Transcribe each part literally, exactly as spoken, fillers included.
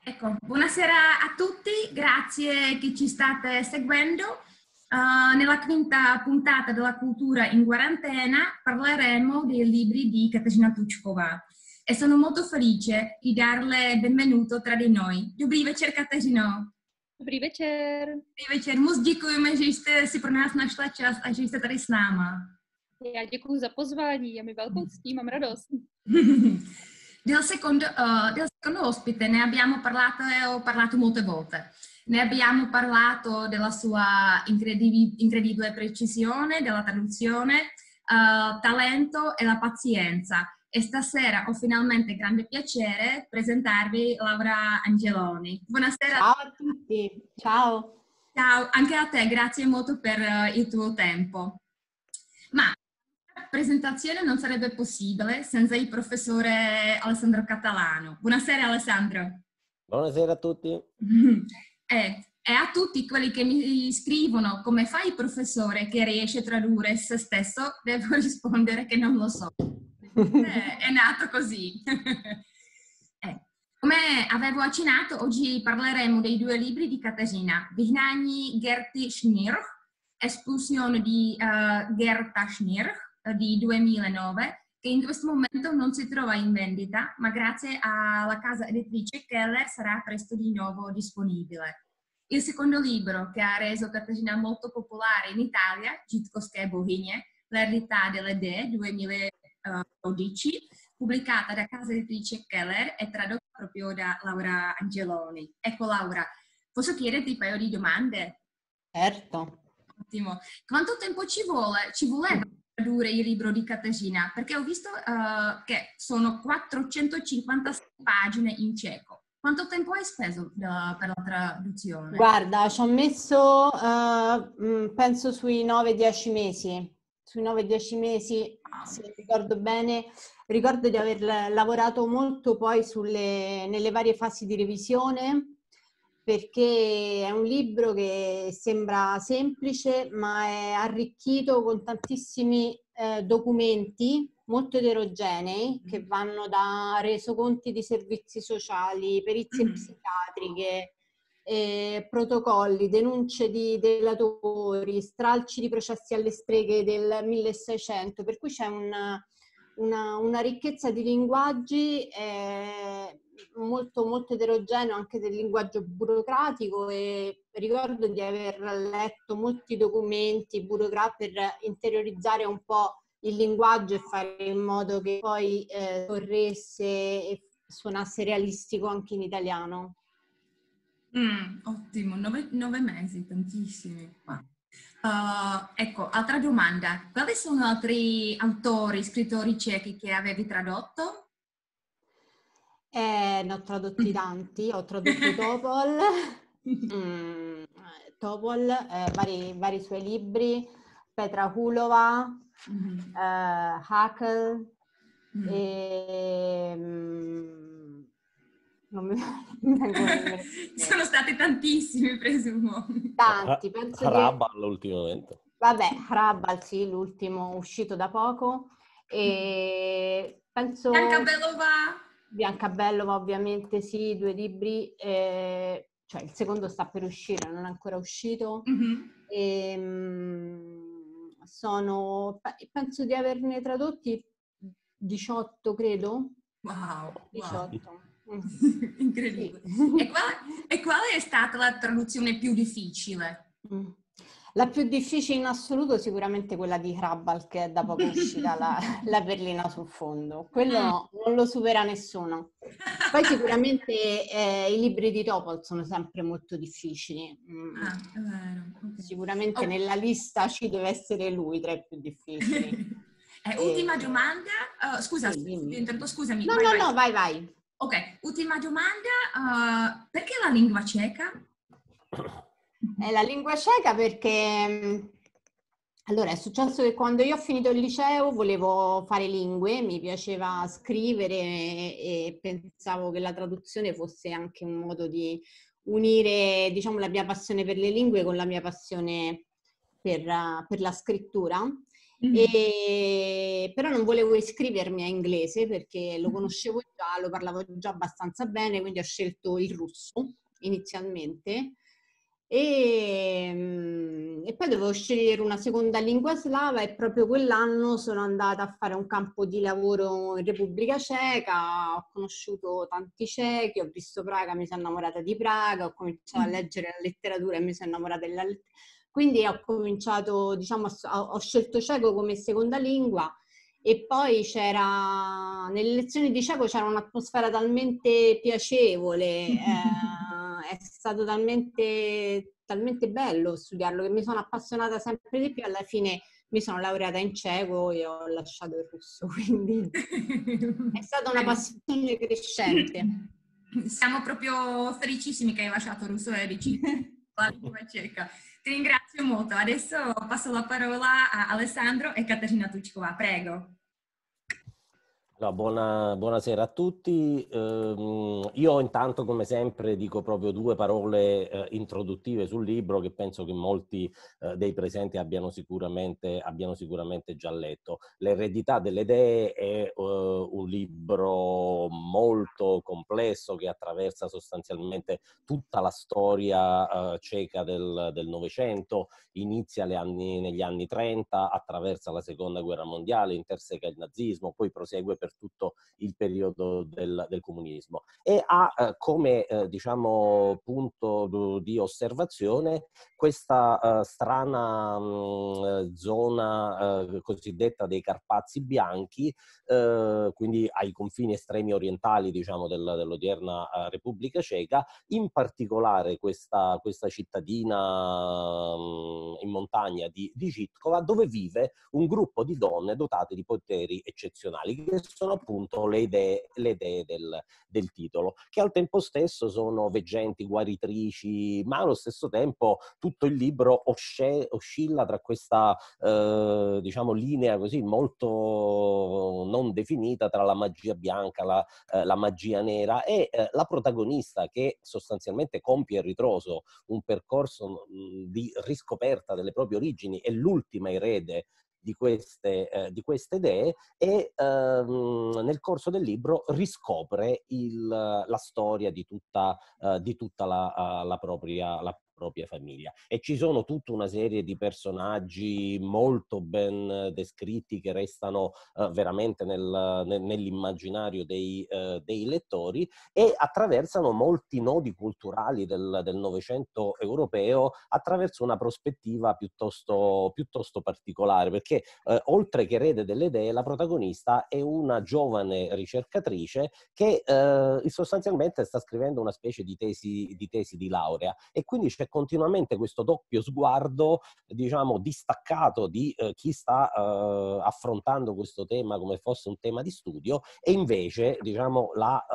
Ecco, buonasera a tutti, grazie che ci state seguendo. Uh, nella quinta puntata della cultura in quarantena parleremo dei libri di Katarzyna Tuchkova e sono molto felice di darle benvenuto tra di noi. Dobrý večer, Kateřino. Dobrý večer. Dobrý večer. Moc děkujeme, že jste si pro nás našla čas a že jste tady s náma. Já děkuji za pozvání, je mi velkou ctí, mám radost. Del secondo, uh, del secondo ospite ne abbiamo parlato e ho parlato molte volte. Ne abbiamo parlato della sua incredibi- incredibile precisione, della traduzione, uh, talento e la pazienza. E stasera ho finalmente grande piacere presentarvi Laura Angeloni. Buonasera. Ciao a tutti, ciao. Ciao, anche a te, grazie molto per uh, il tuo tempo. Ma la presentazione non sarebbe possibile senza il professore Alessandro Catalano. Buonasera Alessandro. Buonasera a tutti. E, e a tutti quelli che mi scrivono come fa il professore che riesce a tradurre se stesso, devo rispondere che non lo so. È, è nato così. eh. Come avevo accennato, oggi parleremo dei due libri di Katarzyna, Vyhnání Gerty Schnirch, Espulsione di uh, Gerta Schnirch di duemilanove, che in questo momento non si trova in vendita, ma grazie alla casa editrice Keller sarà presto di nuovo disponibile. Il secondo libro, che ha reso Katarzyna molto popolare in Italia, Židovské bohyně, L'eredità delle dee, duemiladodici, pubblicata da casa editrice Keller e tradotta proprio da Laura Angeloni. Ecco Laura, posso chiederti un paio di domande? Certo. Ottimo. Quanto tempo ci vuole, ci voleva tradurre il libro di Katarzyna? Perché ho visto uh, che sono quattrocentocinquantasei pagine in ceco. Quanto tempo hai speso uh, per la traduzione? Guarda, ci ho messo, uh, penso sui nove dieci mesi. Sui nove dieci mesi, se ricordo bene. Ricordo di aver lavorato molto poi sulle, nelle varie fasi di revisione, perché è un libro che sembra semplice, ma è arricchito con tantissimi eh, documenti molto eterogenei che vanno da resoconti di servizi sociali, perizie psichiatriche, eh, protocolli, denunce di delatori, stralci di processi alle streghe del milleseicento, per cui c'è una, una, una ricchezza di linguaggi eh, molto molto eterogeneo anche del linguaggio burocratico, e ricordo di aver letto molti documenti burocratici per interiorizzare un po' il linguaggio e fare in modo che poi eh, corresse e suonasse realistico anche in italiano. Mm, ottimo, nove, nove mesi, tantissimi. Uh, ecco, altra domanda. Quali sono altri autori, scrittori cechi che avevi tradotto? Eh, ne ho tradotti tanti, ho tradotto Topol, mm, Topol eh, vari, vari suoi libri, Petra Hulova, mm-hmm. eh, Hakel, mm. e... Mm, non mi sono stati tantissimi, presumo. Tanti, penso Hrabal che... ultimamente. Vabbè, Hrabal, sì, l'ultimo uscito da poco. E penso... Biancabellova. Biancabellova, ovviamente, sì, due libri. Eh, cioè, il secondo sta per uscire, non è ancora uscito. Mm-hmm. E, mh, sono... Penso di averne tradotti diciotto, credo. Wow, diciotto. Wow. Incredibile. Sì. E, quale, e quale è stata la traduzione più difficile? Mm. La più difficile in assoluto sicuramente quella di Hrabal, che è da poco uscita, la, la perlina sul fondo. Quello mm. non lo supera nessuno. Poi sicuramente eh, i libri di Topol sono sempre molto difficili. Mm. Ah, è vero. Okay. Sicuramente oh. nella lista ci deve essere lui tra i più difficili. eh, ultima domanda. Uh, scusa, sì, scusa, scusami. No, vai, no, vai. no, vai, vai. Ok, ultima domanda, uh, perché la lingua ceca? È la lingua ceca perché, allora, è successo che quando io ho finito il liceo volevo fare lingue, mi piaceva scrivere e, e pensavo che la traduzione fosse anche un modo di unire, diciamo, la mia passione per le lingue con la mia passione per, per la scrittura. E, però non volevo iscrivermi a inglese perché lo conoscevo già, lo parlavo già abbastanza bene, quindi ho scelto il russo inizialmente. E, mm, e poi dovevo scegliere una seconda lingua slava e proprio quell'anno sono andata a fare un campo di lavoro in Repubblica Ceca, ho conosciuto tanti cechi, ho visto Praga, mi sono innamorata di Praga, ho cominciato a leggere la letteratura e mi sono innamorata della letteratura. Quindi ho cominciato, diciamo, ho scelto ceco come seconda lingua e poi c'era, nelle lezioni di ceco c'era un'atmosfera talmente piacevole, eh, è stato talmente, talmente bello studiarlo che mi sono appassionata sempre di più. Alla fine mi sono laureata in ceco e ho lasciato il russo, quindi è stata una passione crescente. Siamo proprio felicissimi che hai lasciato il russo e amici la lingua ceca. Ti ringrazio molto. Adesso passo la parola a Alessandro e Caterina Tucikova. Prego. No, buona, buonasera a tutti. Eh, io intanto, come sempre, dico proprio due parole eh, introduttive sul libro che penso che molti eh, dei presenti abbiano sicuramente, abbiano sicuramente già letto. L'eredità delle idee è eh, un libro molto complesso che attraversa sostanzialmente tutta la storia eh, ceca del Novecento, inizia le anni, negli anni trenta, attraversa la Seconda Guerra Mondiale, interseca il nazismo, poi prosegue per tutto il periodo del, del comunismo e ha eh, come eh, diciamo punto di osservazione questa eh, strana mh, zona eh, cosiddetta dei Carpazi bianchi, eh, quindi ai confini estremi orientali, diciamo, del, dell'odierna eh, Repubblica Ceca, in particolare questa, questa cittadina mh, in montagna di, di Žitkova, dove vive un gruppo di donne dotate di poteri eccezionali, che sono appunto le idee, le idee del, del titolo, che al tempo stesso sono veggenti, guaritrici, ma allo stesso tempo tutto il libro osce, oscilla tra questa eh, diciamo linea così molto non definita tra la magia bianca, la, eh, la magia nera e eh, la protagonista che sostanzialmente compie a ritroso un percorso mh, di riscoperta delle proprie origini, è l'ultima erede di queste, eh, di queste idee e ehm, nel corso del libro riscopre il, la storia di tutta, uh, di tutta la, uh, la, propria, la propria famiglia. E ci sono tutta una serie di personaggi molto ben descritti che restano uh, veramente nel, nel, nell'immaginario dei, uh, dei lettori e attraversano molti nodi culturali del, del Novecento europeo attraverso una prospettiva piuttosto, piuttosto particolare, perché eh, oltre che erede delle idee, la protagonista è una giovane ricercatrice che eh, sostanzialmente sta scrivendo una specie di tesi, di tesi di laurea e quindi c'è continuamente questo doppio sguardo, diciamo, distaccato di eh, chi sta eh, affrontando questo tema come fosse un tema di studio e invece, diciamo, la,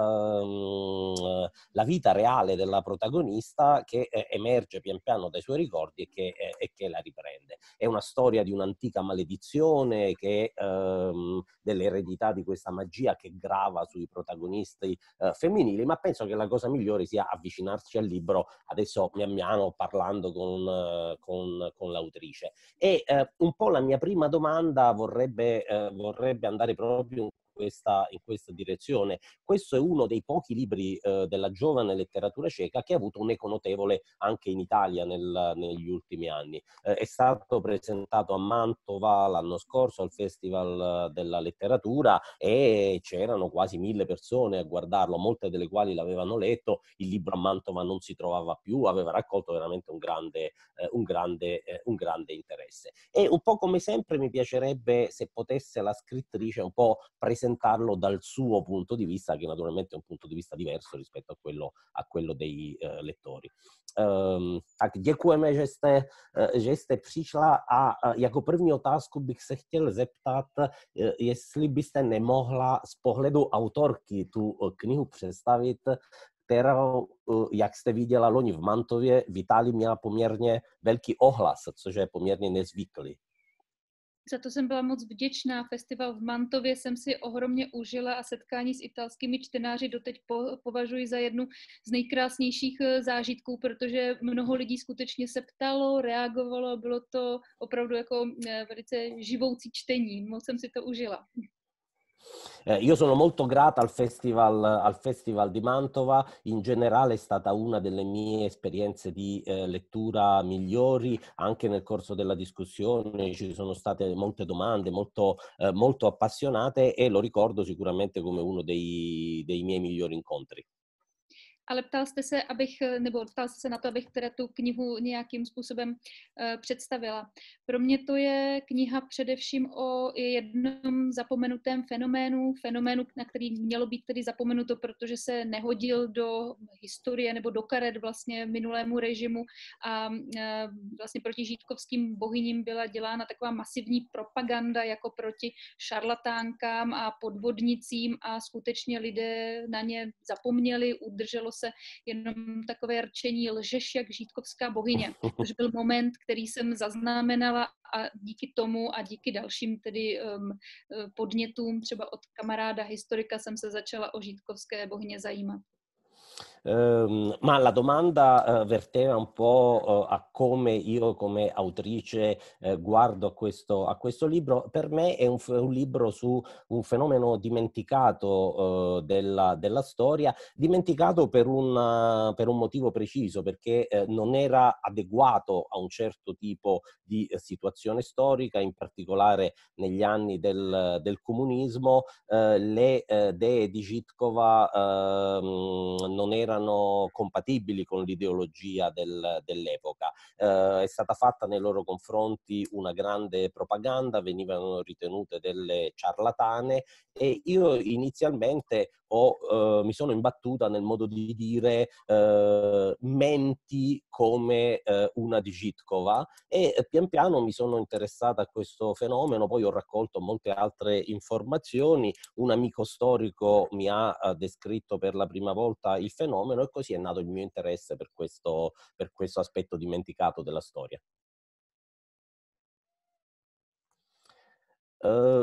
ehm, la vita reale della protagonista che eh, emerge pian piano dai suoi ricordi e che, eh, e che la riprende. È una storia di un'antica maledizione, che, ehm, dell'eredità di questa magia che grava sui protagonisti eh, femminili, ma penso che la cosa migliore sia avvicinarci al libro adesso pian piano parlando con, eh, con, con l'autrice. E eh, un po' la mia prima domanda vorrebbe, eh, vorrebbe andare proprio in questa, in questa direzione. Questo è uno dei pochi libri eh, della giovane letteratura ceca che ha avuto un eco notevole anche in Italia nel, negli ultimi anni. Eh, è stato presentato a Mantova l'anno scorso al Festival della Letteratura e c'erano quasi mille persone a guardarlo, molte delle quali l'avevano letto. Il libro a Mantova non si trovava più, aveva raccolto veramente un grande, eh, un grande, eh, un grande interesse. E un po' come sempre mi piacerebbe, se potesse la scrittrice, un po' presentarlo dal suo punto di vista, che naturalmente è un punto di vista diverso rispetto a quello, a quello dei uh, lettori. Um, tak děkujeme, že jste, uh, že jste přišla a uh, jako první otázku bych se chtěl zeptat, uh, jestli byste nemohla z pohledu autorky tu uh, knihu představit, kterou, uh, jak jste viděla loni v Mantově, v Itálii měla poměrně velký ohlas, což je poměrně nezvyklý. Za to jsem byla moc vděčná. Festival v Mantově jsem si ohromně užila a setkání s italskými čtenáři doteď po, považuji za jednu z nejkrásnějších zážitků, protože mnoho lidí skutečně se ptalo, reagovalo, bylo to opravdu jako velice živoucí čtení. Moc jsem si to užila. Eh, io sono molto grata al festival, al Festival di Mantova, in generale è stata una delle mie esperienze di eh, lettura migliori, anche nel corso della discussione ci sono state molte domande molto, eh, molto appassionate e lo ricordo sicuramente come uno dei, dei miei migliori incontri. Ale ptal jste se, abych, nebo ptal jste se na to, abych teda tu knihu nějakým způsobem uh, představila. Pro mě to je kniha především o jednom zapomenutém fenoménu, fenoménu, na který mělo být tedy zapomenuto, protože se nehodil do historie nebo do karet vlastně minulému režimu a uh, vlastně proti žítkovským bohyním byla dělána taková masivní propaganda jako proti šarlatánkám a podvodnicím a skutečně lidé na ně zapomněli, udrželo se jenom takové rčení lžeš jak žítkovská bohyně, což byl moment, který jsem zaznamenala a díky tomu a díky dalším tedy um, podnětům třeba od kamaráda historika jsem se začala o žítkovské bohyně zajímat. Uh, ma la domanda uh, verteva un po' uh, a come io come autrice uh, guardo a questo, a questo libro. Per me è un, un libro su un fenomeno dimenticato uh, della, della storia, dimenticato per un, per un motivo preciso, perché uh, non era adeguato a un certo tipo di uh, situazione storica, in particolare negli anni del, del comunismo. Uh, le uh, dee di Žitkova uh, non erano erano compatibili con l'ideologia del, dell'epoca. Eh, è stata fatta nei loro confronti una grande propaganda, venivano ritenute delle ciarlatane e io inizialmente ho, eh, mi sono imbattuta nel modo di dire eh, menti come eh, una di Žitkova e eh, pian piano mi sono interessata a questo fenomeno, poi ho raccolto molte altre informazioni, un amico storico mi ha eh, descritto per la prima volta il fenomeno e così è nato il mio interesse per questo, per questo aspetto dimenticato della storia. Uh,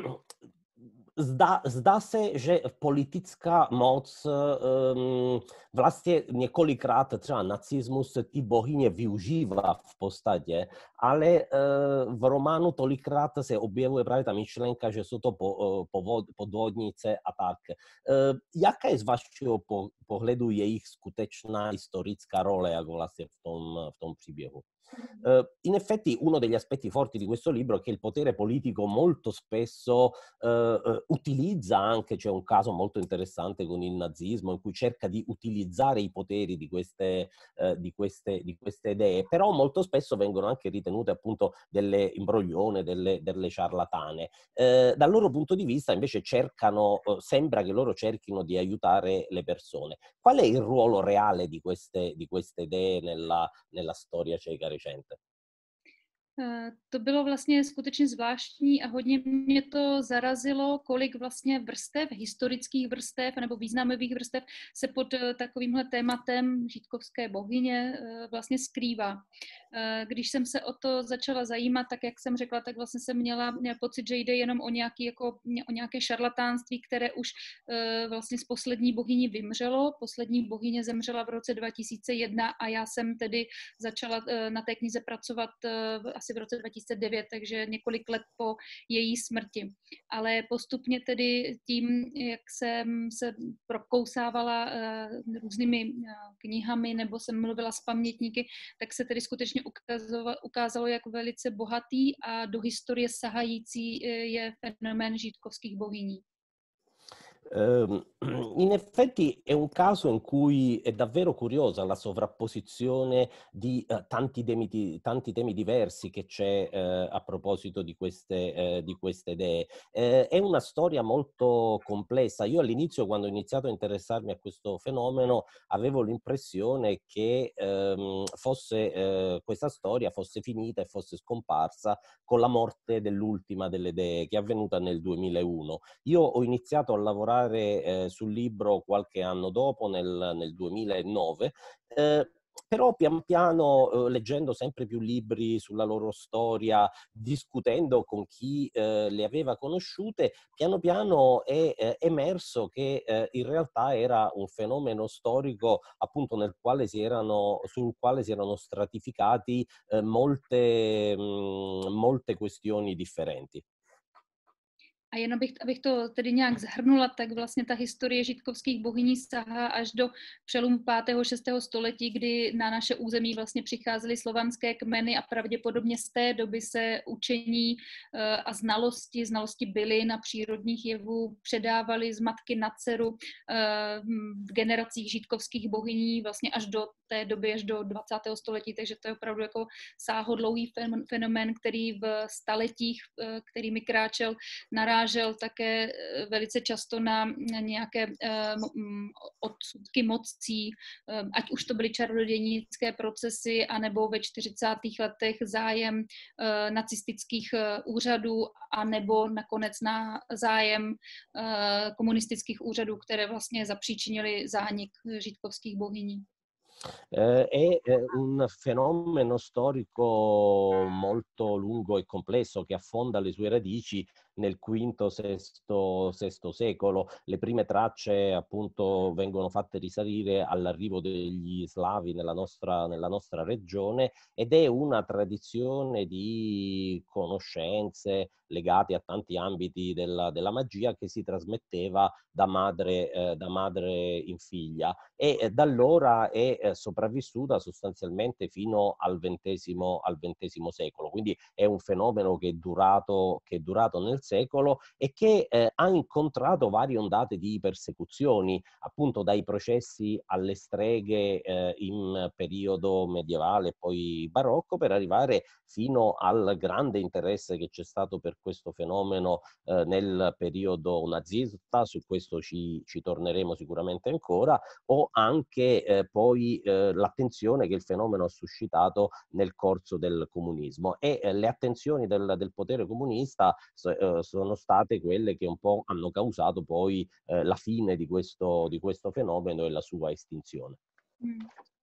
Zdá, zdá se, že politická moc, um, vlastně několikrát třeba nacismus ty bohyně využívá v podstatě, ale uh, v románu tolikrát se objevuje právě ta myšlenka, že jsou to po, uh, podvodnice a tak. Uh, jaká je z vašeho po, pohledu jejich skutečná historická role jako vlastně v tom, v tom příběhu? Uh, in effetti uno degli aspetti forti di questo libro è che il potere politico molto spesso uh, uh, utilizza anche, c'è un caso molto interessante con il nazismo in cui cerca di utilizzare i poteri di queste, uh, di queste, di queste idee, però molto spesso vengono anche ritenute appunto delle imbroglione, delle, delle ciarlatane. Uh, dal loro punto di vista invece cercano, uh, sembra che loro cerchino di aiutare le persone. Qual è il ruolo reale di queste, di queste idee nella, nella storia ceca recente? To bylo vlastně skutečně zvláštní a hodně mě to zarazilo, kolik vlastně vrstev, historických vrstev nebo významových vrstev se pod takovýmhle tématem žítkovské bohyně vlastně skrývá. Když jsem se o to začala zajímat, tak jak jsem řekla, tak vlastně jsem měla, měla pocit, že jde jenom o, nějaký, jako, o nějaké šarlatánství, které už vlastně z poslední bohyni vymřelo. Poslední bohyně zemřela v roce dva tisíce jedna a já jsem tedy začala na té knize pracovat asi v roce dva tisíce devět, takže několik let po její smrti. Ale postupně tedy tím, jak jsem se prokousávala uh, různými uh, knihami nebo jsem mluvila s pamětníky, tak se tedy skutečně ukázalo, ukázalo jak velice bohatý a do historie sahající je fenomén žítkovských bohyní. In effetti è un caso in cui è davvero curiosa la sovrapposizione di uh, tanti, temi, di, tanti temi diversi che c'è uh, a proposito di queste, uh, di queste idee. Uh, è una storia molto complessa. Io all'inizio, quando ho iniziato a interessarmi a questo fenomeno, avevo l'impressione che um, fosse, uh, questa storia fosse finita e fosse scomparsa con la morte dell'ultima delle idee, che è avvenuta nel duemilauno. Io ho iniziato a lavorare eh, sul libro qualche anno dopo, nel, nel duemilanove, eh, però pian piano, eh, leggendo sempre più libri sulla loro storia, discutendo con chi eh, le aveva conosciute, piano piano è eh, emerso che eh, in realtà era un fenomeno storico appunto nel quale si erano, sul quale si erano stratificati eh, molte, mh, molte questioni differenti. A jen abych, abych to tedy nějak zhrnula, tak vlastně ta historie židkovských bohyní sahá až do přelomu pátého šestého století, kdy na naše území vlastně přicházely slovanské kmeny a pravděpodobně z té doby se učení a znalosti, znalosti bylin a přírodních jevů předávaly z matky na dceru v generacích židkovských bohyní vlastně až do té doby, až do dvacátého století, takže to je opravdu jako sáhodlouhý fenomén, který v staletích, kterými kráčel, narážel také velice často na nějaké odsudky mocí, ať už to byly čarodějnické procesy, anebo ve čtyřicátých letech zájem nacistických úřadů, anebo nakonec na zájem komunistických úřadů, které vlastně zapříčinily zánik židkovských bohyní. Eh, è eh, un fenomeno storico molto lungo e complesso che affonda le sue radici nel quinto, sesto, sesto secolo. Le prime tracce appunto vengono fatte risalire all'arrivo degli slavi nella nostra, nella nostra regione ed è una tradizione di conoscenze legate a tanti ambiti della, della magia che si trasmetteva da madre, eh, da madre in figlia e eh, da allora è eh, sopravvissuta sostanzialmente fino al ventesimo, al ventesimo secolo. Quindi è un fenomeno che è durato, che è durato nel secolo e che eh, ha incontrato varie ondate di persecuzioni, appunto dai processi alle streghe eh, in periodo medievale e poi barocco, per arrivare fino al grande interesse che c'è stato per questo fenomeno eh, nel periodo nazista, su questo ci, ci torneremo sicuramente ancora, o anche eh, poi eh, l'attenzione che il fenomeno ha suscitato nel corso del comunismo. E eh, le attenzioni del, del potere comunista eh, sono state quelle che un po' hanno causato poi eh, la fine di questo, di questo fenomeno e la sua estinzione. Hmm.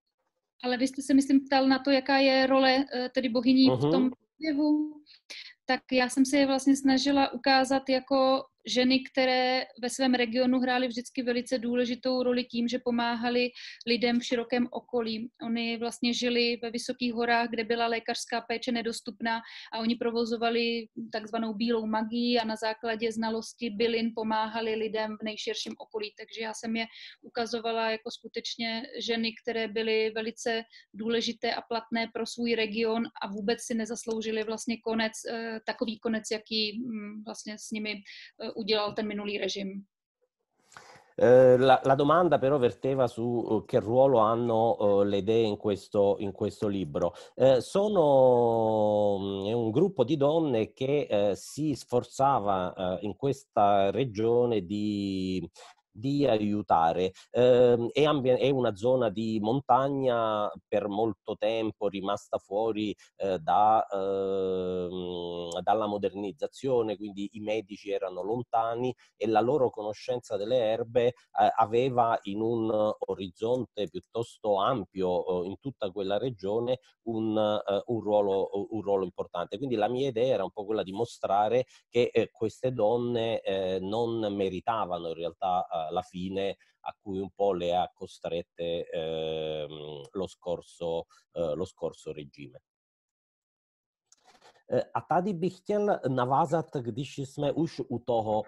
Ale vy jste se, myslím, ptal na to, jaká je role tedy bohyní v tom jevu. Tak já jsem se je vlastně snažila ukázat jako ženy, které ve svém regionu hrály vždycky velice důležitou roli tím, že pomáhali lidem v širokém okolí. Oni vlastně žili ve vysokých horách, kde byla lékařská péče nedostupná a oni provozovali takzvanou bílou magii a na základě znalosti bylin pomáhali lidem v nejširším okolí. Takže já jsem je ukazovala jako skutečně ženy, které byly velice důležité a platné pro svůj region a vůbec si nezasloužili vlastně konec, takový konec, jaký vlastně s nimi udělal ten minulý režim. La, la domanda però verteva su che ruolo hanno uh, le dee in questo, in questo libro. Eh, sono è un gruppo di donne che eh, si sforzava eh, in questa regione di di aiutare. Eh, è, è una zona di montagna per molto tempo rimasta fuori eh, da, eh, dalla modernizzazione, quindi i medici erano lontani e la loro conoscenza delle erbe eh, aveva in un orizzonte piuttosto ampio eh, in tutta quella regione un, eh, un, ruolo, un ruolo importante. Quindi la mia idea era un po' quella di mostrare che eh, queste donne eh, non meritavano in realtà eh, la fine a cui un po' le ha costrette eh, lo, scorso, eh, lo scorso regime. A tady bych chtěl navázat, když jsme už u toho.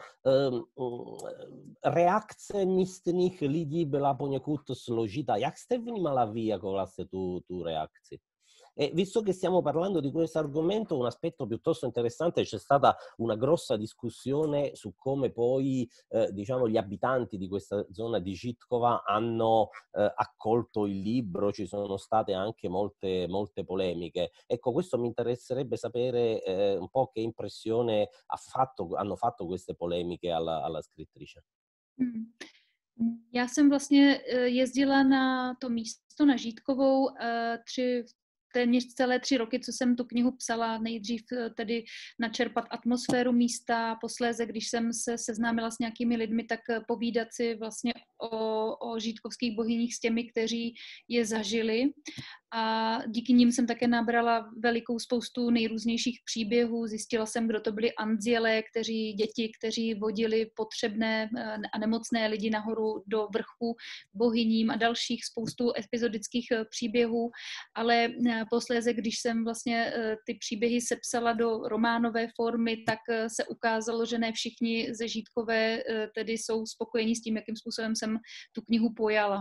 Reakce místních lidí byla poněkud složitá. Jak jste vnímala vy jako vlastně tu, tu reakci? E visto che stiamo parlando di questo argomento, un aspetto piuttosto interessante, c'è stata una grossa discussione su come poi eh, diciamo, gli abitanti di questa zona di Žítkova hanno eh, accolto il libro, ci sono state anche molte, molte polemiche. Ecco, questo mi interesserebbe sapere eh, un po' che impressione ha fatto, hanno fatto queste polemiche alla, alla scrittrice. Hmm. Já jsem vlastně jezdila na to místo, na Žítkovou, tři téměř celé tři roky, co jsem tu knihu psala, nejdřív tedy načerpat atmosféru místa, posléze, když jsem se seznámila s nějakými lidmi, tak povídat si vlastně o, o žítkovských bohyních s těmi, kteří je zažili. A díky nim jsem také nabrala velikou spoustu nejrůznějších příběhů. Zjistila jsem, kdo to byli andělé, kteří, děti, kteří vodili potřebné a nemocné lidi nahoru do vrchu bohyním a dalších spoustu epizodických příběhů. Ale posléze, když jsem vlastně ty příběhy sepsala do románové formy, tak se ukázalo, že ne všichni ze Žítkové tedy jsou spokojeni s tím, jakým způsobem jsem tu knihu pojala.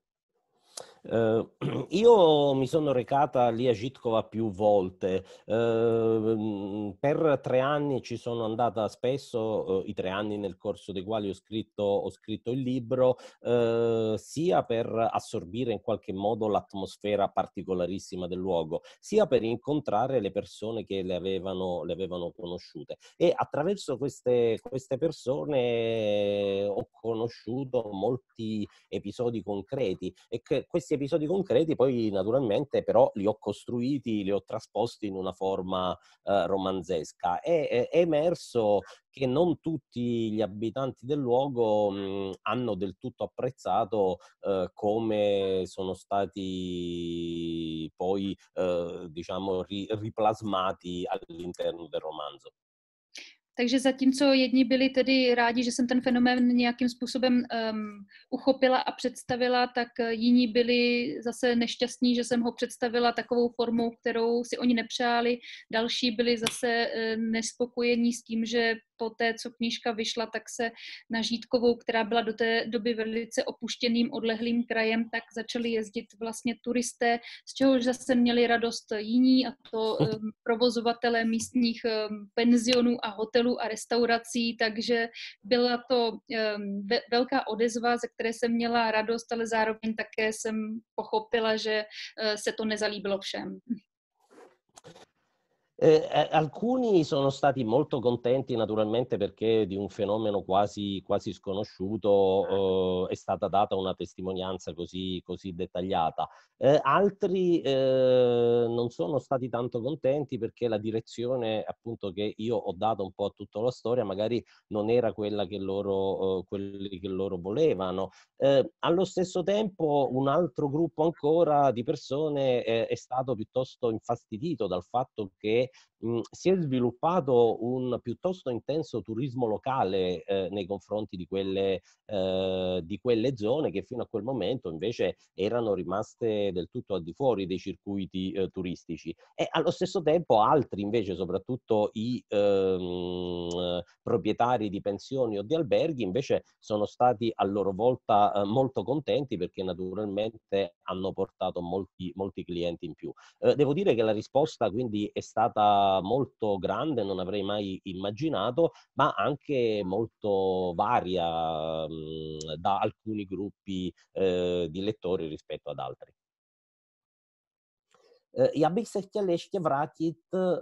Uh, io mi sono recata lì a Žitkova più volte, uh, per tre anni ci sono andata spesso, uh, i tre anni nel corso dei quali ho scritto, ho scritto il libro, uh, sia per assorbire in qualche modo l'atmosfera particolarissima del luogo, sia per incontrare le persone che le avevano, le avevano conosciute. E attraverso queste, queste persone ho conosciuto molti episodi concreti e che questi episodi concreti poi naturalmente però li ho costruiti, li ho trasposti in una forma eh, romanzesca. E è, è emerso che non tutti gli abitanti del luogo mh, hanno del tutto apprezzato eh, come sono stati poi eh, diciamo ri, riplasmati all'interno del romanzo. Takže zatímco jedni byli tedy rádi, že jsem ten fenomén nějakým způsobem um, uchopila a představila, tak jiní byli zase nešťastní, že jsem ho představila takovou formou, kterou si oni nepřáli. Další byli zase uh, nespokojení s tím, že po té, co knížka vyšla, tak se na Žítkovou, která byla do té doby velice opuštěným, odlehlým krajem, tak začali jezdit vlastně turisté, z čehož zase měli radost jiní, a to um, provozovatelé místních um, penzionů a hotelů a restaurací, takže byla to um, ve- velká odezva, ze které jsem měla radost, ale zároveň také jsem pochopila, že uh, se to nezalíbilo všem. Eh, alcuni sono stati molto contenti naturalmente perché di un fenomeno quasi, quasi sconosciuto eh, è stata data una testimonianza così, così dettagliata. Eh, altri eh, non sono stati tanto contenti perché la direzione appunto che io ho dato un po' a tutta la storia magari non era quella che loro, eh, quelli che loro volevano. Eh, allo stesso tempo un altro gruppo ancora di persone eh, è stato piuttosto infastidito dal fatto che mh, si è sviluppato un piuttosto intenso turismo locale eh, nei confronti di quelle, eh, di quelle zone che fino a quel momento invece erano rimaste del tutto al di fuori dei circuiti eh, turistici. E allo stesso tempo altri invece, soprattutto i ehm, proprietari di pensioni o di alberghi, invece sono stati a loro volta eh, molto contenti perché naturalmente hanno portato molti, molti clienti in più. Eh, devo dire che la risposta quindi è stata molto grande, non avrei mai immaginato, ma anche molto varia mh, da alcuni gruppi eh, di lettori rispetto ad altri. Já bych se chtěl ještě vrátit,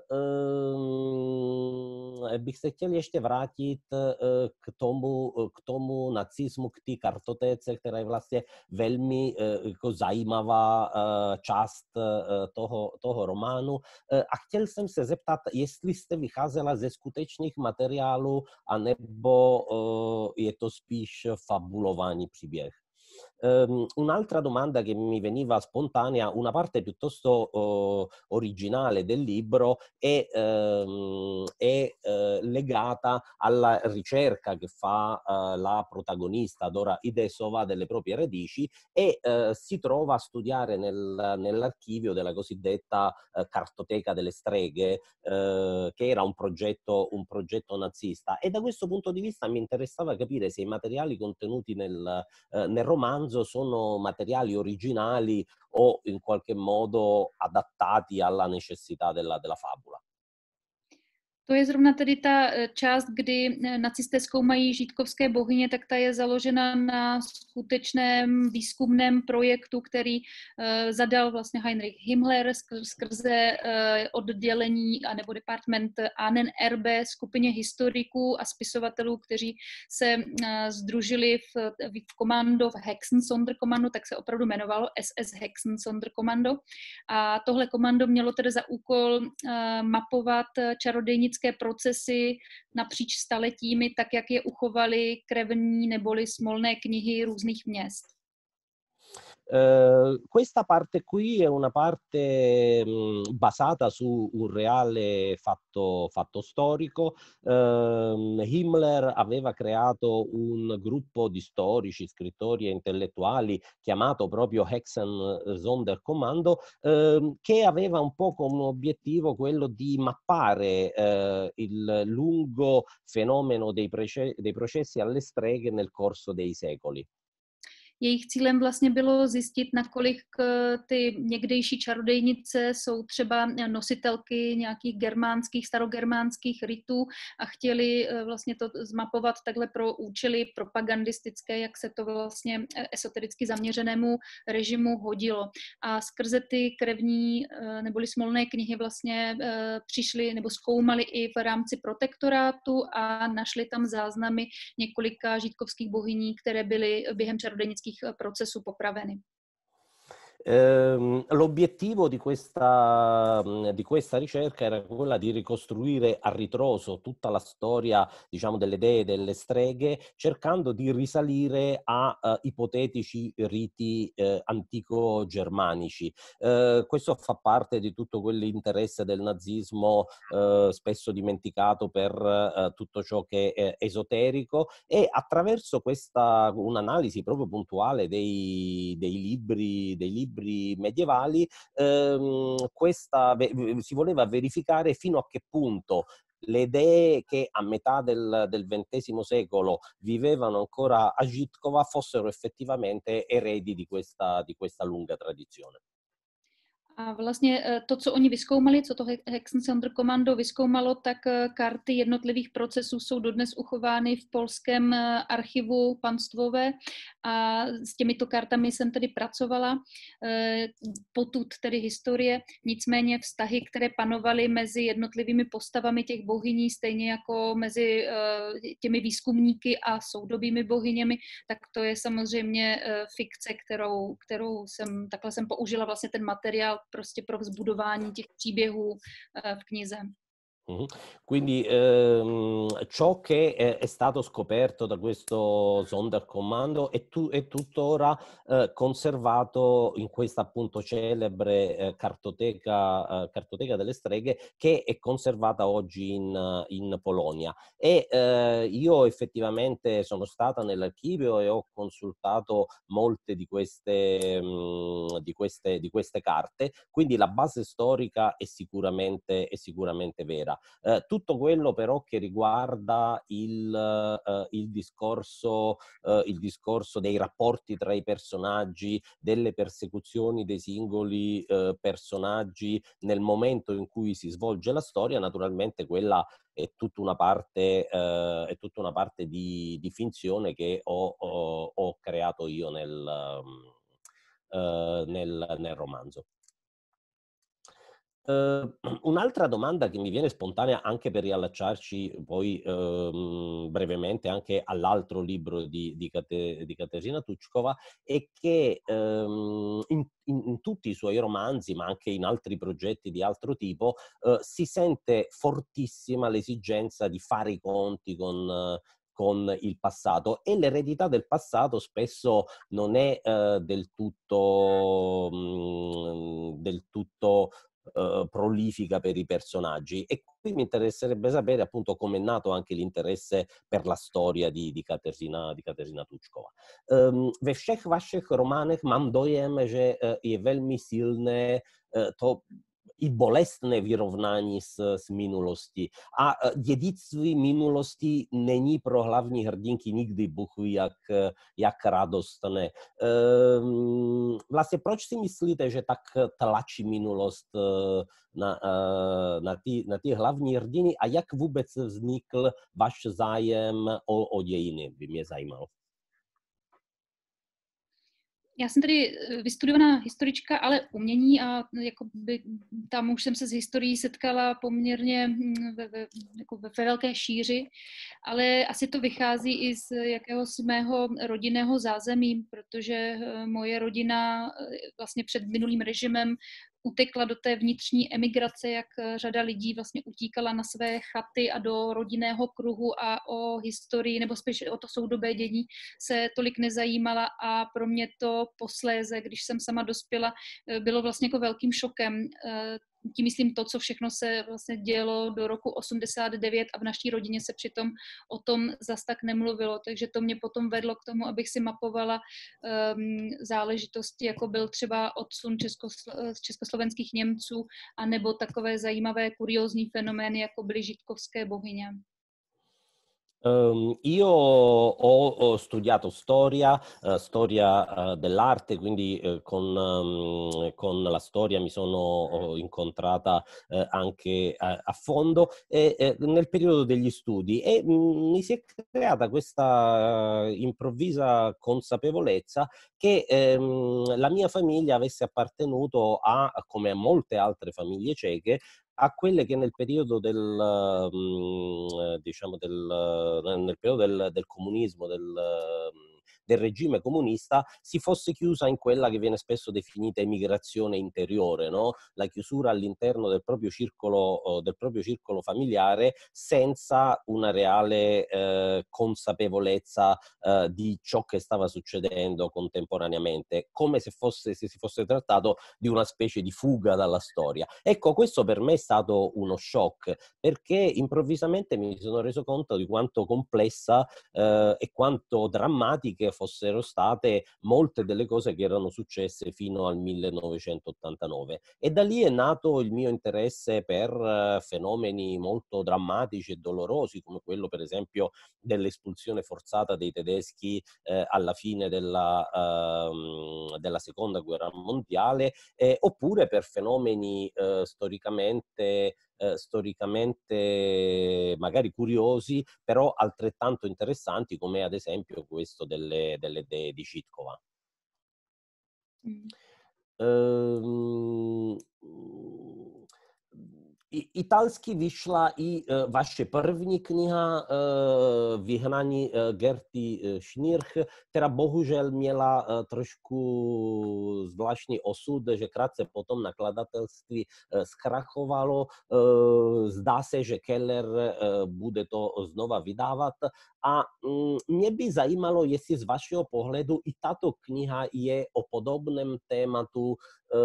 bych se chtěl ještě vrátit k tomu, k tomu nacismu, k té kartotéce, která je vlastně velmi jako zajímavá část toho, toho románu. A chtěl jsem se zeptat, jestli jste vycházela ze skutečných materiálů, anebo je to spíš fabulovaný příběh. Um, un'altra domanda che mi veniva spontanea, una parte piuttosto uh, originale del libro è, um, è uh, legata alla ricerca che fa uh, la protagonista Dora Idesova delle proprie radici e uh, si trova a studiare nel, nell'archivio della cosiddetta uh, cartoteca delle streghe, uh, che era un progetto, un progetto nazista, e da questo punto di vista mi interessava capire se i materiali contenuti nel, uh, nel romanzo sono materiali originali o in qualche modo adattati alla necessità della, della favola. To je zrovna tedy ta část, kdy nacisté zkoumají žítkovské bohyně, tak ta je založena na skutečném výzkumném projektu, který uh, zadal vlastně Heinrich Himmler skrze uh, oddělení anebo department A N N R B skupině historiků a spisovatelů, kteří se uh, sdružili v, v komando, v Hexensonderkommando, tak se opravdu jmenovalo S S Hexensonderkommando. A tohle komando mělo tedy za úkol uh, mapovat čarodějnické procesy napříč staletími, tak jak je uchovaly krevní neboli smolné knihy různých měst. Uh, questa parte qui è una parte mh, basata su un reale fatto, fatto storico. Uh, Himmler aveva creato un gruppo di storici, scrittori e intellettuali chiamato proprio Hexensonderkommando, uh, che aveva un po' come obiettivo quello di mappare uh, il lungo fenomeno dei, prece- dei processi alle streghe nel corso dei secoli. Jejich cílem vlastně bylo zjistit, nakolik ty někdejší čarodejnice jsou třeba nositelky nějakých germánských, starogermánských rytů a chtěli vlastně to zmapovat takhle pro účely propagandistické, jak se to vlastně esotericky zaměřenému režimu hodilo. A skrze ty krevní neboli smolné knihy vlastně přišli nebo zkoumali i v rámci protektorátu a našli tam záznamy několika žítkovských bohyní, které byly během čarodejnických procesů popraveny. Ehm, l'obiettivo di questa, di questa ricerca era quella di ricostruire a ritroso tutta la storia, diciamo, delle dee delle streghe, cercando di risalire a uh, ipotetici riti uh, antico-germanici. Uh, questo fa parte di tutto quell'interesse del nazismo uh, spesso dimenticato per uh, tutto ciò che è esoterico, e attraverso questa un'analisi proprio puntuale dei, dei libri, dei libri medievali, ehm, questa si voleva verificare fino a che punto le idee che a metà del, del ventesimo secolo vivevano ancora a Žitkova fossero effettivamente eredi di questa, di questa lunga tradizione. A vlastně to, co oni vyzkoumali, co to Hexensonderkommando vyzkoumalo, tak karty jednotlivých procesů jsou dodnes uchovány v polském archivu panstvové a s těmito kartami jsem tedy pracovala, potud tedy historie, nicméně vztahy, které panovaly mezi jednotlivými postavami těch bohyní, stejně jako mezi těmi výzkumníky a soudobými bohyněmi, tak to je samozřejmě fikce, kterou, kterou jsem, takhle jsem použila vlastně ten materiál prostě pro vzbudování těch příběhů v knize. Mm-hmm. Quindi ehm, ciò che è, è stato scoperto da questo Sonderkommando è, tu, è tuttora eh, conservato in questa appunto celebre eh, cartoteca, eh, cartoteca delle streghe, che è conservata oggi in, in Polonia. E eh, io effettivamente sono stata nell'archivio e ho consultato molte di queste, mh, di queste, di queste carte, quindi la base storica è sicuramente, è sicuramente vera. Eh, tutto quello però che riguarda il, eh, il, discorso, eh, il discorso dei rapporti tra i personaggi, delle persecuzioni dei singoli eh, personaggi nel momento in cui si svolge la storia, naturalmente quella è tutta una parte, eh, è tutta una parte di, di finzione che ho, ho, ho creato io nel, eh, nel, nel romanzo. Uh, un'altra domanda che mi viene spontanea, anche per riallacciarci poi uh, brevemente anche all'altro libro di, di, Kate, di Kateřina Tučková, è che um, in, in, in tutti i suoi romanzi, ma anche in altri progetti di altro tipo, uh, si sente fortissima l'esigenza di fare i conti con... Uh, con il passato, e l'eredità del passato spesso non è uh, del tutto mh, del tutto Uh, prolifica per i personaggi, e qui mi interesserebbe sapere appunto come è nato anche l'interesse per la storia di, di Kateřina, di Kateřina Tučková. Um, ve všech vašich románech mám dojem, že uh, je velmi silné uh, to i bolestné vyrovnání s, s minulostí. A dědictví minulosti není pro hlavní hrdinky nikdy Bůh ví jak, jak radostné. Ehm, vlastně proč si myslíte, že tak tlačí minulost na, na, ty, na ty hlavní hrdiny a jak vůbec vznikl váš zájem o, o dějiny, by mě zajímalo. Já jsem tady vystudovaná historička, ale umění a jakoby, tam už jsem se s historií setkala poměrně ve, ve, jako ve velké šíři, ale asi to vychází i z jakéhosi mého rodinného zázemí, protože moje rodina vlastně před minulým režimem utekla do té vnitřní emigrace, jak řada lidí vlastně utíkala na své chaty a do rodinného kruhu a o historii, nebo spíš o to soudobé dění se tolik nezajímala a pro mě to posléze, když jsem sama dospěla, bylo vlastně jako velkým šokem. Tím myslím to, co všechno se vlastně dělo do roku osmdesát devět a v naší rodině se přitom o tom zas tak nemluvilo, takže to mě potom vedlo k tomu, abych si mapovala um, záležitosti, jako byl třeba odsun českoslo- československých Němců, anebo takové zajímavé kuriózní fenomény, jako byly židkovské bohyně. Um, io ho, ho studiato storia, uh, storia uh, dell'arte, quindi uh, con, um, con la storia mi sono incontrata uh, anche a, a fondo e, e nel periodo degli studi e mh, mi si è creata questa uh, improvvisa consapevolezza che um, la mia famiglia avesse appartenuto a, come a molte altre famiglie ceche, a quelle che nel periodo del, diciamo del, nel periodo del, del comunismo, del, del regime comunista, si fosse chiusa in quella che viene spesso definita emigrazione interiore, no? La chiusura all'interno del proprio circolo, del proprio circolo familiare senza una reale eh, consapevolezza eh, di ciò che stava succedendo contemporaneamente, come se, fosse, se si fosse trattato di una specie di fuga dalla storia. Ecco, questo per me è stato uno shock, perché improvvisamente mi sono reso conto di quanto complessa eh, e quanto drammatiche fossero state molte delle cose che erano successe fino al millenovecentottantanove. E da lì è nato il mio interesse per uh, fenomeni molto drammatici e dolorosi, come quello per esempio dell'espulsione forzata dei tedeschi eh, alla fine della, uh, della seconda guerra mondiale, eh, oppure per fenomeni eh, storicamente Eh, storicamente magari curiosi, però altrettanto interessanti, come ad esempio questo delle, delle dee di Žítkova. Mm. Ehm, italsky vyšla i vaše první kniha Vyhnaní Gerty Schnirch, která bohužel měla trošku zvláštní osud, že krátce potom nakladatelství zkrachovalo. Zdá se, že Keller bude to znova vydávat. A mě by zajímalo, jestli z vašeho pohledu i tato kniha je o podobném tématu.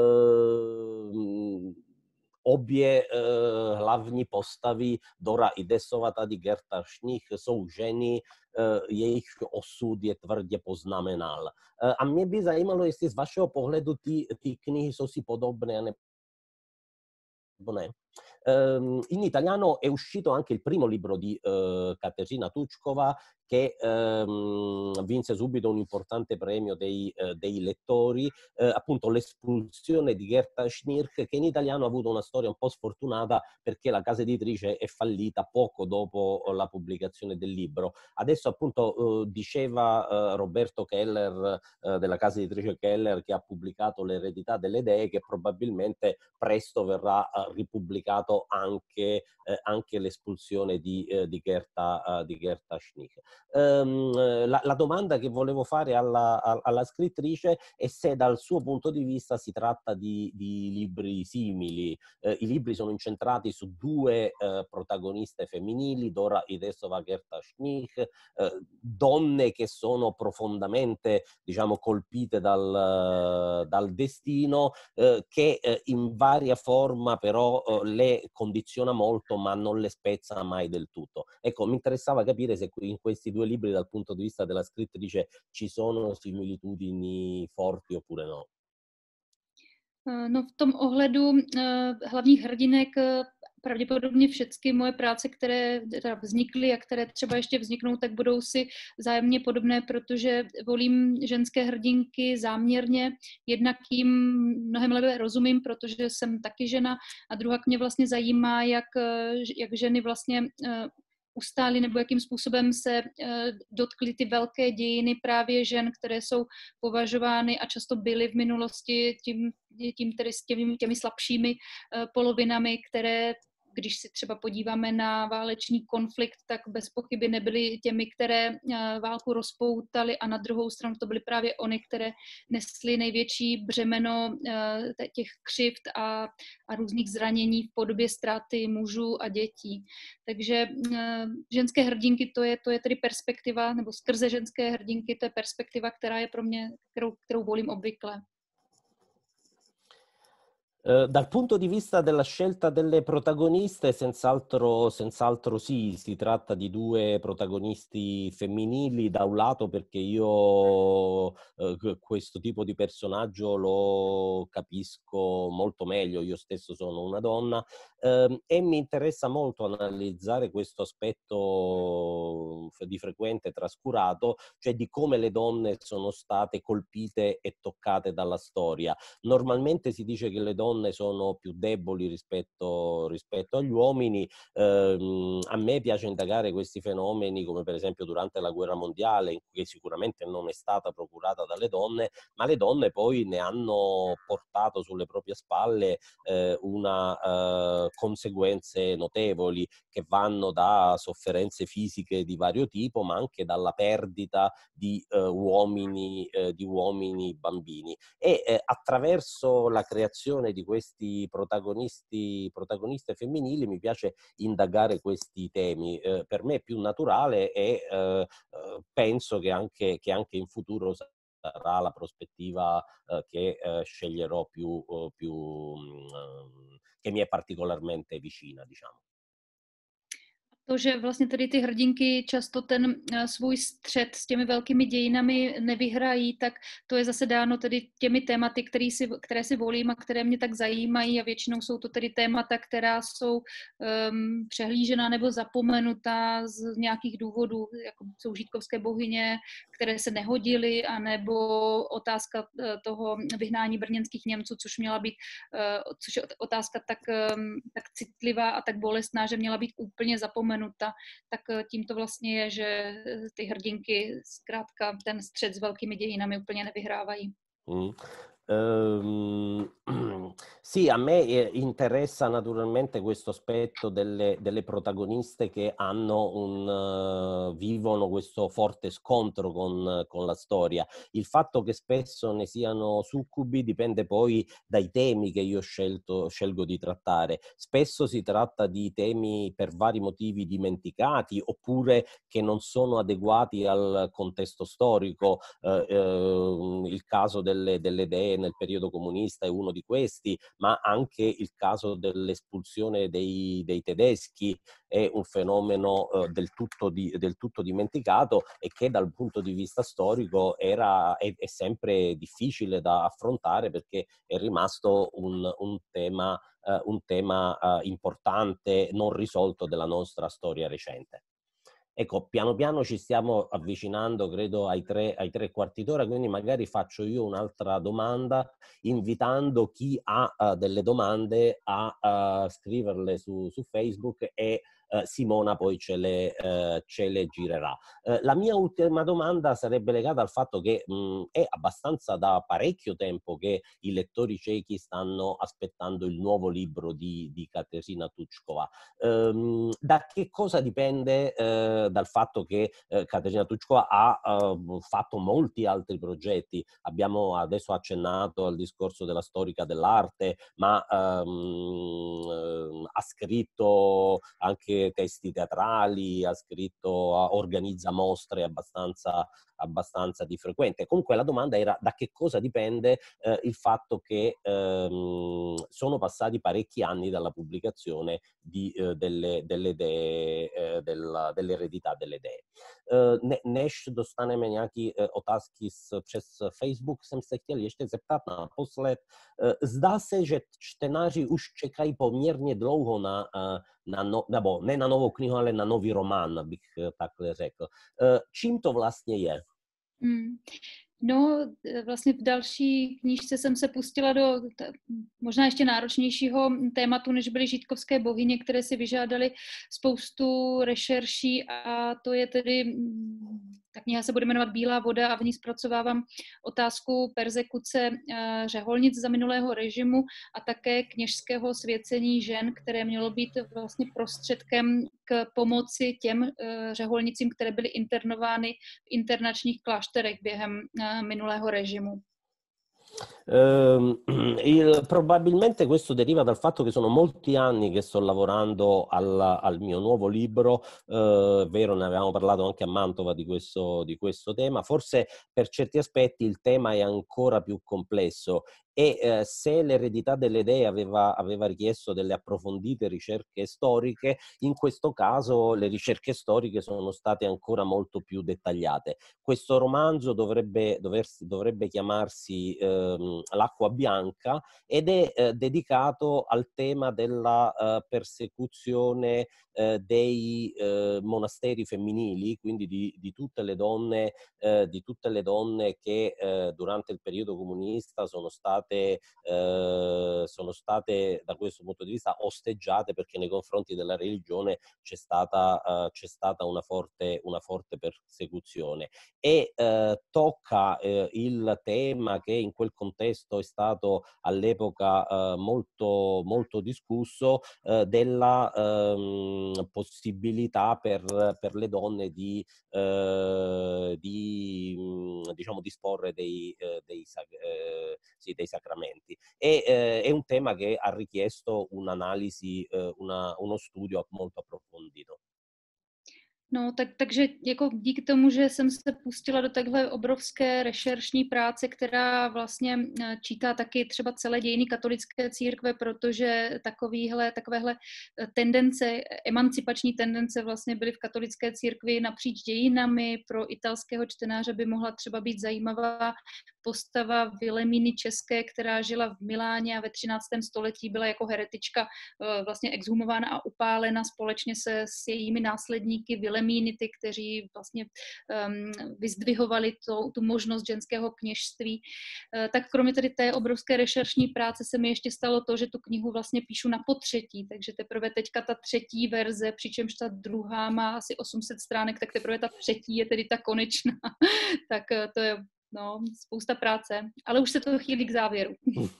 Obě eh, hlavní postavy, Dora Idesova, tady Gerta Schnirch, jsou ženy, eh, jejich osud je tvrdě poznamenal. Eh, a mě by zajímalo, jestli z vašeho pohledu ty, ty knihy jsou si podobné, nebo ne. Um, in italiano è uscito anche il primo libro di uh, Kateřina Tučková, che um, vinse subito un importante premio dei, uh, dei lettori, uh, appunto L'espulsione di Gerta Schnirch, che in italiano ha avuto una storia un po' sfortunata perché la casa editrice è fallita poco dopo la pubblicazione del libro. Adesso appunto uh, diceva uh, Roberto Keller uh, della casa editrice Keller, che ha pubblicato L'eredità delle dee, che probabilmente presto verrà uh, ripubblicato anche, eh, anche l'espulsione di, eh, di, Gerta, uh, di Gerta Schnirch. Um, la, la domanda che volevo fare alla, alla scrittrice è se dal suo punto di vista si tratta di, di libri simili. Eh, I libri sono incentrati su due eh, protagoniste femminili, Dora Idesova, Gerta Schnirch, eh, donne che sono profondamente, diciamo, colpite dal, dal destino, eh, che eh, in varia forma però eh, le condiziona molto ma non le spezza mai del tutto. Ecco, mi interessava capire se in questi due libri dal punto di vista della scrittrice ci sono similitudini forti oppure no. No v tom ohledu hlavních hrdinek pravděpodobně všechny moje práce, které teda vznikly a které třeba ještě vzniknou, tak budou si vzájemně podobné, protože volím ženské hrdinky záměrně. Jednak jim mnohem lépe rozumím, protože jsem taky žena, a druhá mě vlastně zajímá, jak, jak ženy vlastně ustály nebo jakým způsobem se dotkly ty velké dějiny právě žen, které jsou považovány a často byly v minulosti tím, tím tedy s těmi, těmi slabšími polovinami, které, když si třeba podíváme na válečný konflikt, tak bez pochyby nebyly těmi, které válku rozpoutaly, a na druhou stranu to byly právě ony, které nesly největší břemeno těch křivd a, a různých zranění v podobě ztráty mužů a dětí. Takže ženské hrdinky, to je, to je tedy perspektiva, nebo skrze ženské hrdinky, to je perspektiva, která je pro mě, kterou, kterou volím obvykle. Dal punto di vista della scelta delle protagoniste, senz'altro, senz'altro sì, si tratta di due protagonisti femminili, da un lato perché io eh, questo tipo di personaggio lo capisco molto meglio, io stesso sono una donna, eh, e mi interessa molto analizzare questo aspetto di frequente trascurato, cioè di come le donne sono state colpite e toccate dalla storia. Normalmente si dice che le donne sono più deboli rispetto, rispetto agli uomini. Eh, a me piace indagare questi fenomeni, come per esempio durante la guerra mondiale, che sicuramente non è stata procurata dalle donne, ma le donne poi ne hanno portato sulle proprie spalle eh, una eh, conseguenze notevoli, che vanno da sofferenze fisiche di vario tipo, ma anche dalla perdita di eh, uomini, eh, di uomini bambini. E eh, attraverso la creazione di questi protagonisti, protagoniste femminili mi piace indagare questi temi. Eh, per me è più naturale e eh, penso che anche, che anche in futuro sarà la prospettiva eh, che eh, sceglierò più, eh, più eh, che mi è particolarmente vicina, diciamo. To, že vlastně tady ty hrdinky často ten svůj střet s těmi velkými dějinami nevyhrají, tak to je zase dáno tedy těmi tématy, které si, které si volím a které mě tak zajímají, a většinou jsou to tedy témata, která jsou um, přehlížená nebo zapomenutá z nějakých důvodů, jako jsou žítkovské bohyně, které se nehodily, anebo otázka toho vyhnání brněnských Němců, což měla být, uh, což je otázka tak, um, tak citlivá a tak bolestná, že měla být úplně zapomenutá. Tak tím to vlastně je, že ty hrdinky zkrátka ten střed s velkými dějinami úplně nevyhrávají. Mm. Um, sì, a me interessa naturalmente questo aspetto delle, delle protagoniste che hanno un, uh, vivono questo forte scontro con, con la storia. Il fatto che spesso ne siano succubi dipende poi dai temi che io scelto, scelgo di trattare. Spesso si tratta di temi per vari motivi dimenticati, oppure che non sono adeguati al contesto storico. Uh, uh, il caso delle, delle dee nel periodo comunista è uno di questi, ma anche il caso dell'espulsione dei, dei tedeschi è un fenomeno eh, del, tutto di, del tutto dimenticato, e che dal punto di vista storico era, è, è sempre difficile da affrontare, perché è rimasto un, un tema, eh, un tema eh, importante non risolto della nostra storia recente. Ecco, piano piano ci stiamo avvicinando, credo, ai tre, ai tre quarti d'ora, quindi magari faccio io un'altra domanda, invitando chi ha uh, delle domande a uh, scriverle su, su Facebook, e Uh, Simona poi ce le, uh, ce le girerà. Uh, la mia ultima domanda sarebbe legata al fatto che mh, è abbastanza da parecchio tempo che i lettori cechi stanno aspettando il nuovo libro di, di Kateřina Tučková. Um, da che cosa dipende uh, dal fatto che uh, Kateřina Tučková ha uh, fatto molti altri progetti? Abbiamo adesso accennato al discorso della storica dell'arte, ma um, uh, ha scritto anche anche testi teatrali, ha scritto, organizza mostre abbastanza, abbastanza di frequente. Comunque la domanda era da che cosa dipende eh, il fatto che ehm, sono passati parecchi anni dalla pubblicazione di, eh, delle, delle idee, eh, della, dell'eredità delle idee. Uh, než dostaneme nějaký uh, otázky přes Facebook, jsem se chtěl ještě zeptat naposled. Uh, zdá se, že čtenáři už čekají poměrně dlouho na, uh, na no, nebo ne na novou knihu, ale na nový román, bych uh, takhle řekl. Uh, čím to vlastně je? Hmm. No, vlastně v další knížce jsem se pustila do možná ještě náročnějšího tématu, než byly žítkovské bohyně, které si vyžádaly spoustu rešerší, a to je tedy, ta kniha se bude jmenovat Bílá voda a v ní zpracovávám otázku perzekuce řeholnic za minulého režimu a také kněžského svěcení žen, které mělo být vlastně prostředkem k pomoci těm řeholnicím, které byly internovány v internačních klášterech během minulého režimu. Uh, il, probabilmente questo deriva dal fatto che sono molti anni che sto lavorando al, al mio nuovo libro, uh, vero, ne avevamo parlato anche a Mantova di questo, di questo tema. Forse per certi aspetti il tema è ancora più complesso e eh, se l'eredità delle idee aveva, aveva richiesto delle approfondite ricerche storiche, in questo caso le ricerche storiche sono state ancora molto più dettagliate. Questo romanzo dovrebbe, doversi, dovrebbe chiamarsi ehm, L'acqua bianca ed è eh, dedicato al tema della eh, persecuzione eh, dei eh, monasteri femminili, quindi di, di tutte le donne, eh, di tutte le donne che eh, durante il periodo comunista sono state Eh, sono state da questo punto di vista osteggiate, perché nei confronti della religione c'è stata, uh, c'è stata una forte, una forte persecuzione e uh, tocca uh, il tema che in quel contesto è stato all'epoca uh, molto, molto discusso uh, della um, possibilità per, per le donne di, uh, di diciamo disporre dei, uh, dei, uh, sì, dei sacramenti. E eh, è un tema che ha richiesto un'analisi, eh, una, uno studio molto approfondito. No, tak, takže jako díky tomu, že jsem se pustila do takhle obrovské rešeršní práce, která vlastně čítá taky třeba celé dějiny katolické církve, protože takovýhle, takovéhle tendence, emancipační tendence vlastně byly v katolické církvi napříč dějinami. Pro italského čtenáře by mohla třeba být zajímavá postava Vilemíny České, která žila v Miláně a ve třináctém století byla jako heretička vlastně exhumována a upálena společně se s jejími následníky Vilemínity, kteří vlastně um, vyzdvihovali to, tu možnost ženského kněžství. Uh, tak kromě tedy té obrovské rešeršní práce se mi ještě stalo to, že tu knihu vlastně píšu na potřetí, takže teprve teďka ta třetí verze, přičemž ta druhá má asi osm set stránek, tak teprve ta třetí je tedy ta konečná. Tak uh, to je no, spousta práce, ale už se to chýlí k závěru.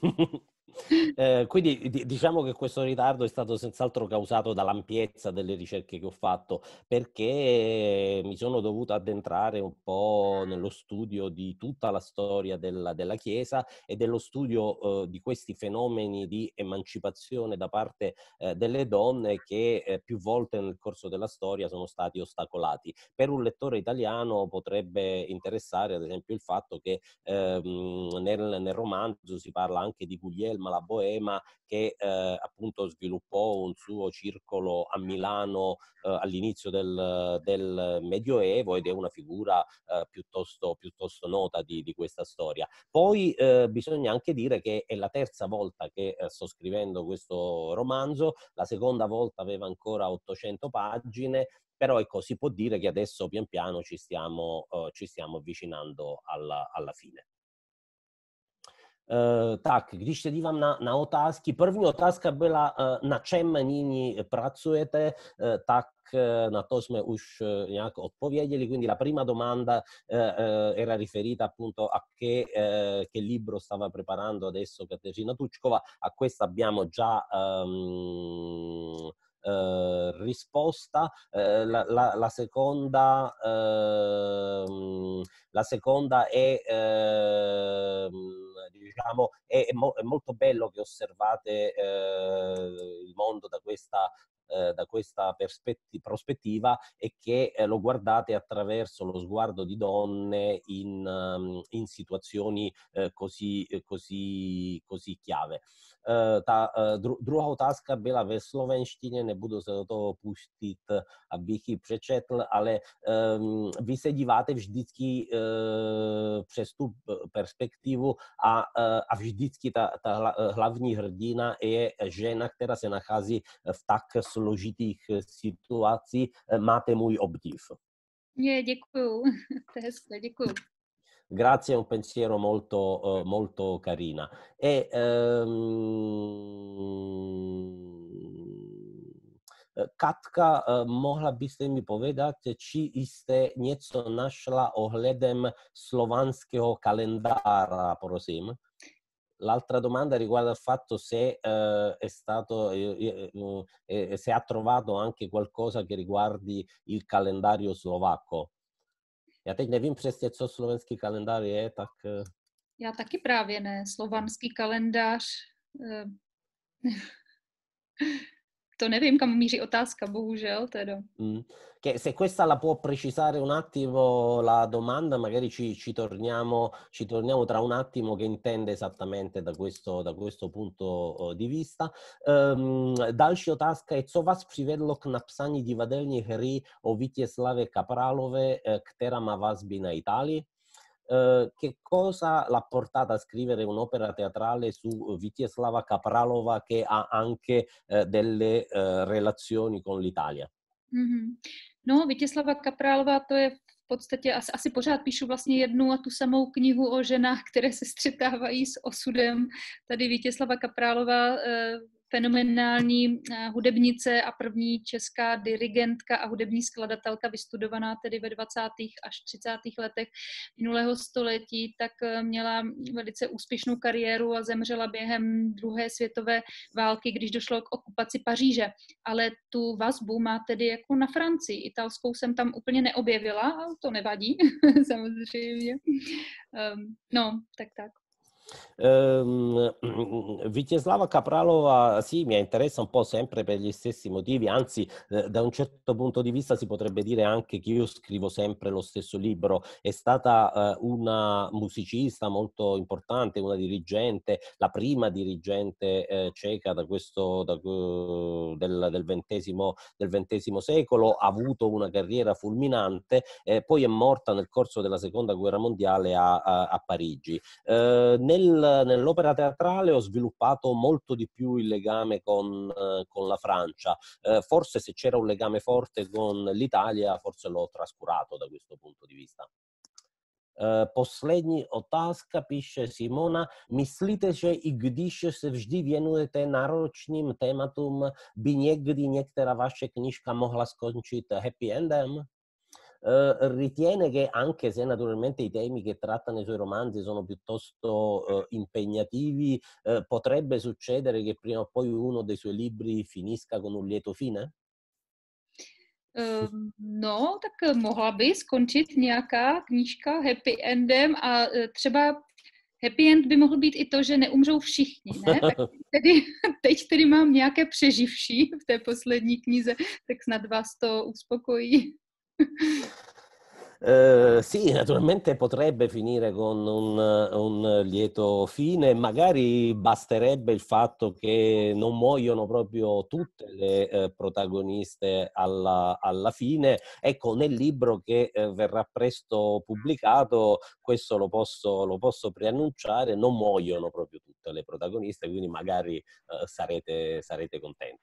Eh, quindi d- diciamo che questo ritardo è stato senz'altro causato dall'ampiezza delle ricerche che ho fatto, perché mi sono dovuto addentrare un po' nello studio di tutta la storia della, della Chiesa e dello studio eh, di questi fenomeni di emancipazione da parte eh, delle donne che eh, più volte nel corso della storia sono stati ostacolati. Per un lettore italiano potrebbe interessare ad esempio il fatto che ehm, nel, nel romanzo si parla anche di Guglielma la Boema, che eh, appunto sviluppò un suo circolo a Milano eh, all'inizio del, del Medioevo ed è una figura eh, piuttosto, piuttosto nota di, di questa storia. Poi eh, bisogna anche dire che è la terza volta che eh, sto scrivendo questo romanzo, la seconda volta aveva ancora ottocento pagine, però ecco, si può dire che adesso pian piano ci stiamo, uh, ci stiamo avvicinando alla, alla fine. Uh, tak, když se dívám na, na otázky, první otázka byla, uh, na čem nyní pracujete, uh, tak uh, na to jsme už uh, nějak odpověděli, quindi la prima domanda uh, uh, era riferita appunto a che, uh, che libro stava preparando adesso Kateřina Tučková, a questa abbiamo già um, Uh, risposta. Uh, la, la, la seconda uh, la seconda è uh, diciamo è, è, mo- è molto bello che osservate uh, il mondo da questa eh, da questa perspetti- prospettiva e che eh, lo guardate attraverso lo sguardo di donne in, um, in situazioni eh, così, cosí, cosí chiave. Uh, ta uh, dru druhá otázka byla ve slovenštině, nebudu se do toho pustit, abych ji přečetl, ale um, vy se díváte vždycky uh, přes tu perspektivu a, uh, a vždycky ta, ta hla, hlavní hrdina je žena, která se nachází v tak složitých situacích. Máte můj obdiv. Je, děkuju. To je hezké, děkuju. Grazie, è un pensiero molto, uh, molto carina. E, um, Katka, uh, mohla byste mi povedat, či jste něco našla ohledem slovanského kalendára, prosím? L'altra domanda riguarda il fatto se uh, è stato, eh, eh, se ha trovato anche qualcosa che riguardi il calendario slovacco. Já teď nevím přesně, co slovenský kalendář je, tak... Já taky právě ne. Slovanský kalendář... To nevím, kam míří otázka, bohužel, teda. Mm. Che se questa la può precisare un attimo la domanda, magari ci, ci, torniamo, ci torniamo tra un attimo che intende esattamente da questo, da questo punto di vista. Um, další otázka je, co vás přivedlo k napsání divadelní hry o Vítězslavě Kapralové, která má vazby na Itálii? Uh, che cosa l'ha portata a scrivere un'opera teatrale su Vítězslava Kapralova che ha anche uh, delle uh, relazioni con l'Italia? Mm-hmm. No, Vítězslava Kapralova, to je v podstatě, asi, asi pořád píšu vlastně jednu a tu samou knihu o ženách, které se střetávají s osudem. Tady Vítězslava Kapralova, uh, fenomenální hudebnice a první česká dirigentka a hudební skladatelka, vystudovaná tedy ve dvacátých až třicátých letech minulého století, tak měla velice úspěšnou kariéru a zemřela během druhé světové války, když došlo k okupaci Paříže. Ale tu vazbu má tedy jako na Francii. Italskou jsem tam úplně neobjevila, ale to nevadí, samozřejmě. Um, no, tak tak. Um, Vítězslava Kapralova sì, mi interessa un po' sempre per gli stessi motivi, anzi eh, da un certo punto di vista si potrebbe dire anche che io scrivo sempre lo stesso libro. È stata eh, una musicista molto importante, una dirigente, la prima dirigente eh, ceca da questo, da, uh, del, del, ventesimo, del ventesimo secolo, ha avuto una carriera fulminante, eh, poi è morta nel corso della seconda guerra mondiale a, a, a Parigi. Eh, nel Nel, nell'opera teatrale ho sviluppato molto di più il legame con, eh, con la Francia. Eh, forse se c'era un legame forte con l'Italia, forse l'ho trascurato da questo punto di vista. Uh, poslední otázka, píše Simona. Myslíte, že i když se vždy věnujete náročným tématům, by někdy některá vaše knížka mohla skončit happy endem? Uh, ritiene che, anche se naturalmente i temi che tratta nei suoi romanzi sono piuttosto uh, impegnativi, uh, potrebbe succedere che prima o poi uno dei suoi libri finisca con un lieto fine? Uh, no, tak mohla by skončit nějaká knížka happy endem a uh, třeba happy end by mohl být i to, že neumřou všichni, ne? Tak tedy, teď tedy mám nějaké přeživší v té poslední knize, tak snad vás to uspokojí. Uh, sì, naturalmente potrebbe finire con un, un lieto fine, magari basterebbe il fatto che non muoiono proprio tutte le eh, protagoniste alla, alla fine. Ecco, nel libro che eh, verrà presto pubblicato, questo lo posso, lo posso preannunciare, non muoiono proprio tutte le protagoniste, quindi magari eh, sarete, sarete contenti.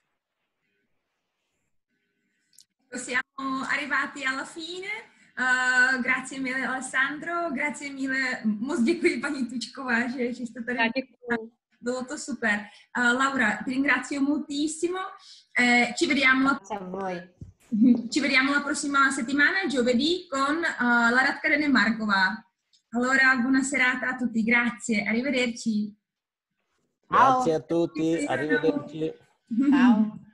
Siamo arrivati alla fine. Uh, grazie mille Alessandro, grazie mille, moc děkuji paní Tučková, že, že jste tady. Bylo to super. Uh, Laura, ti ringrazio moltissimo. Eh, ci vediamo la... Grazie a voi. Ci vediamo la prossima settimana, giovedì, con uh, la Radka Renemarkova. Allora, buona serata a tutti, grazie, arrivederci. Grazie a tutti, arrivederci. Ciao.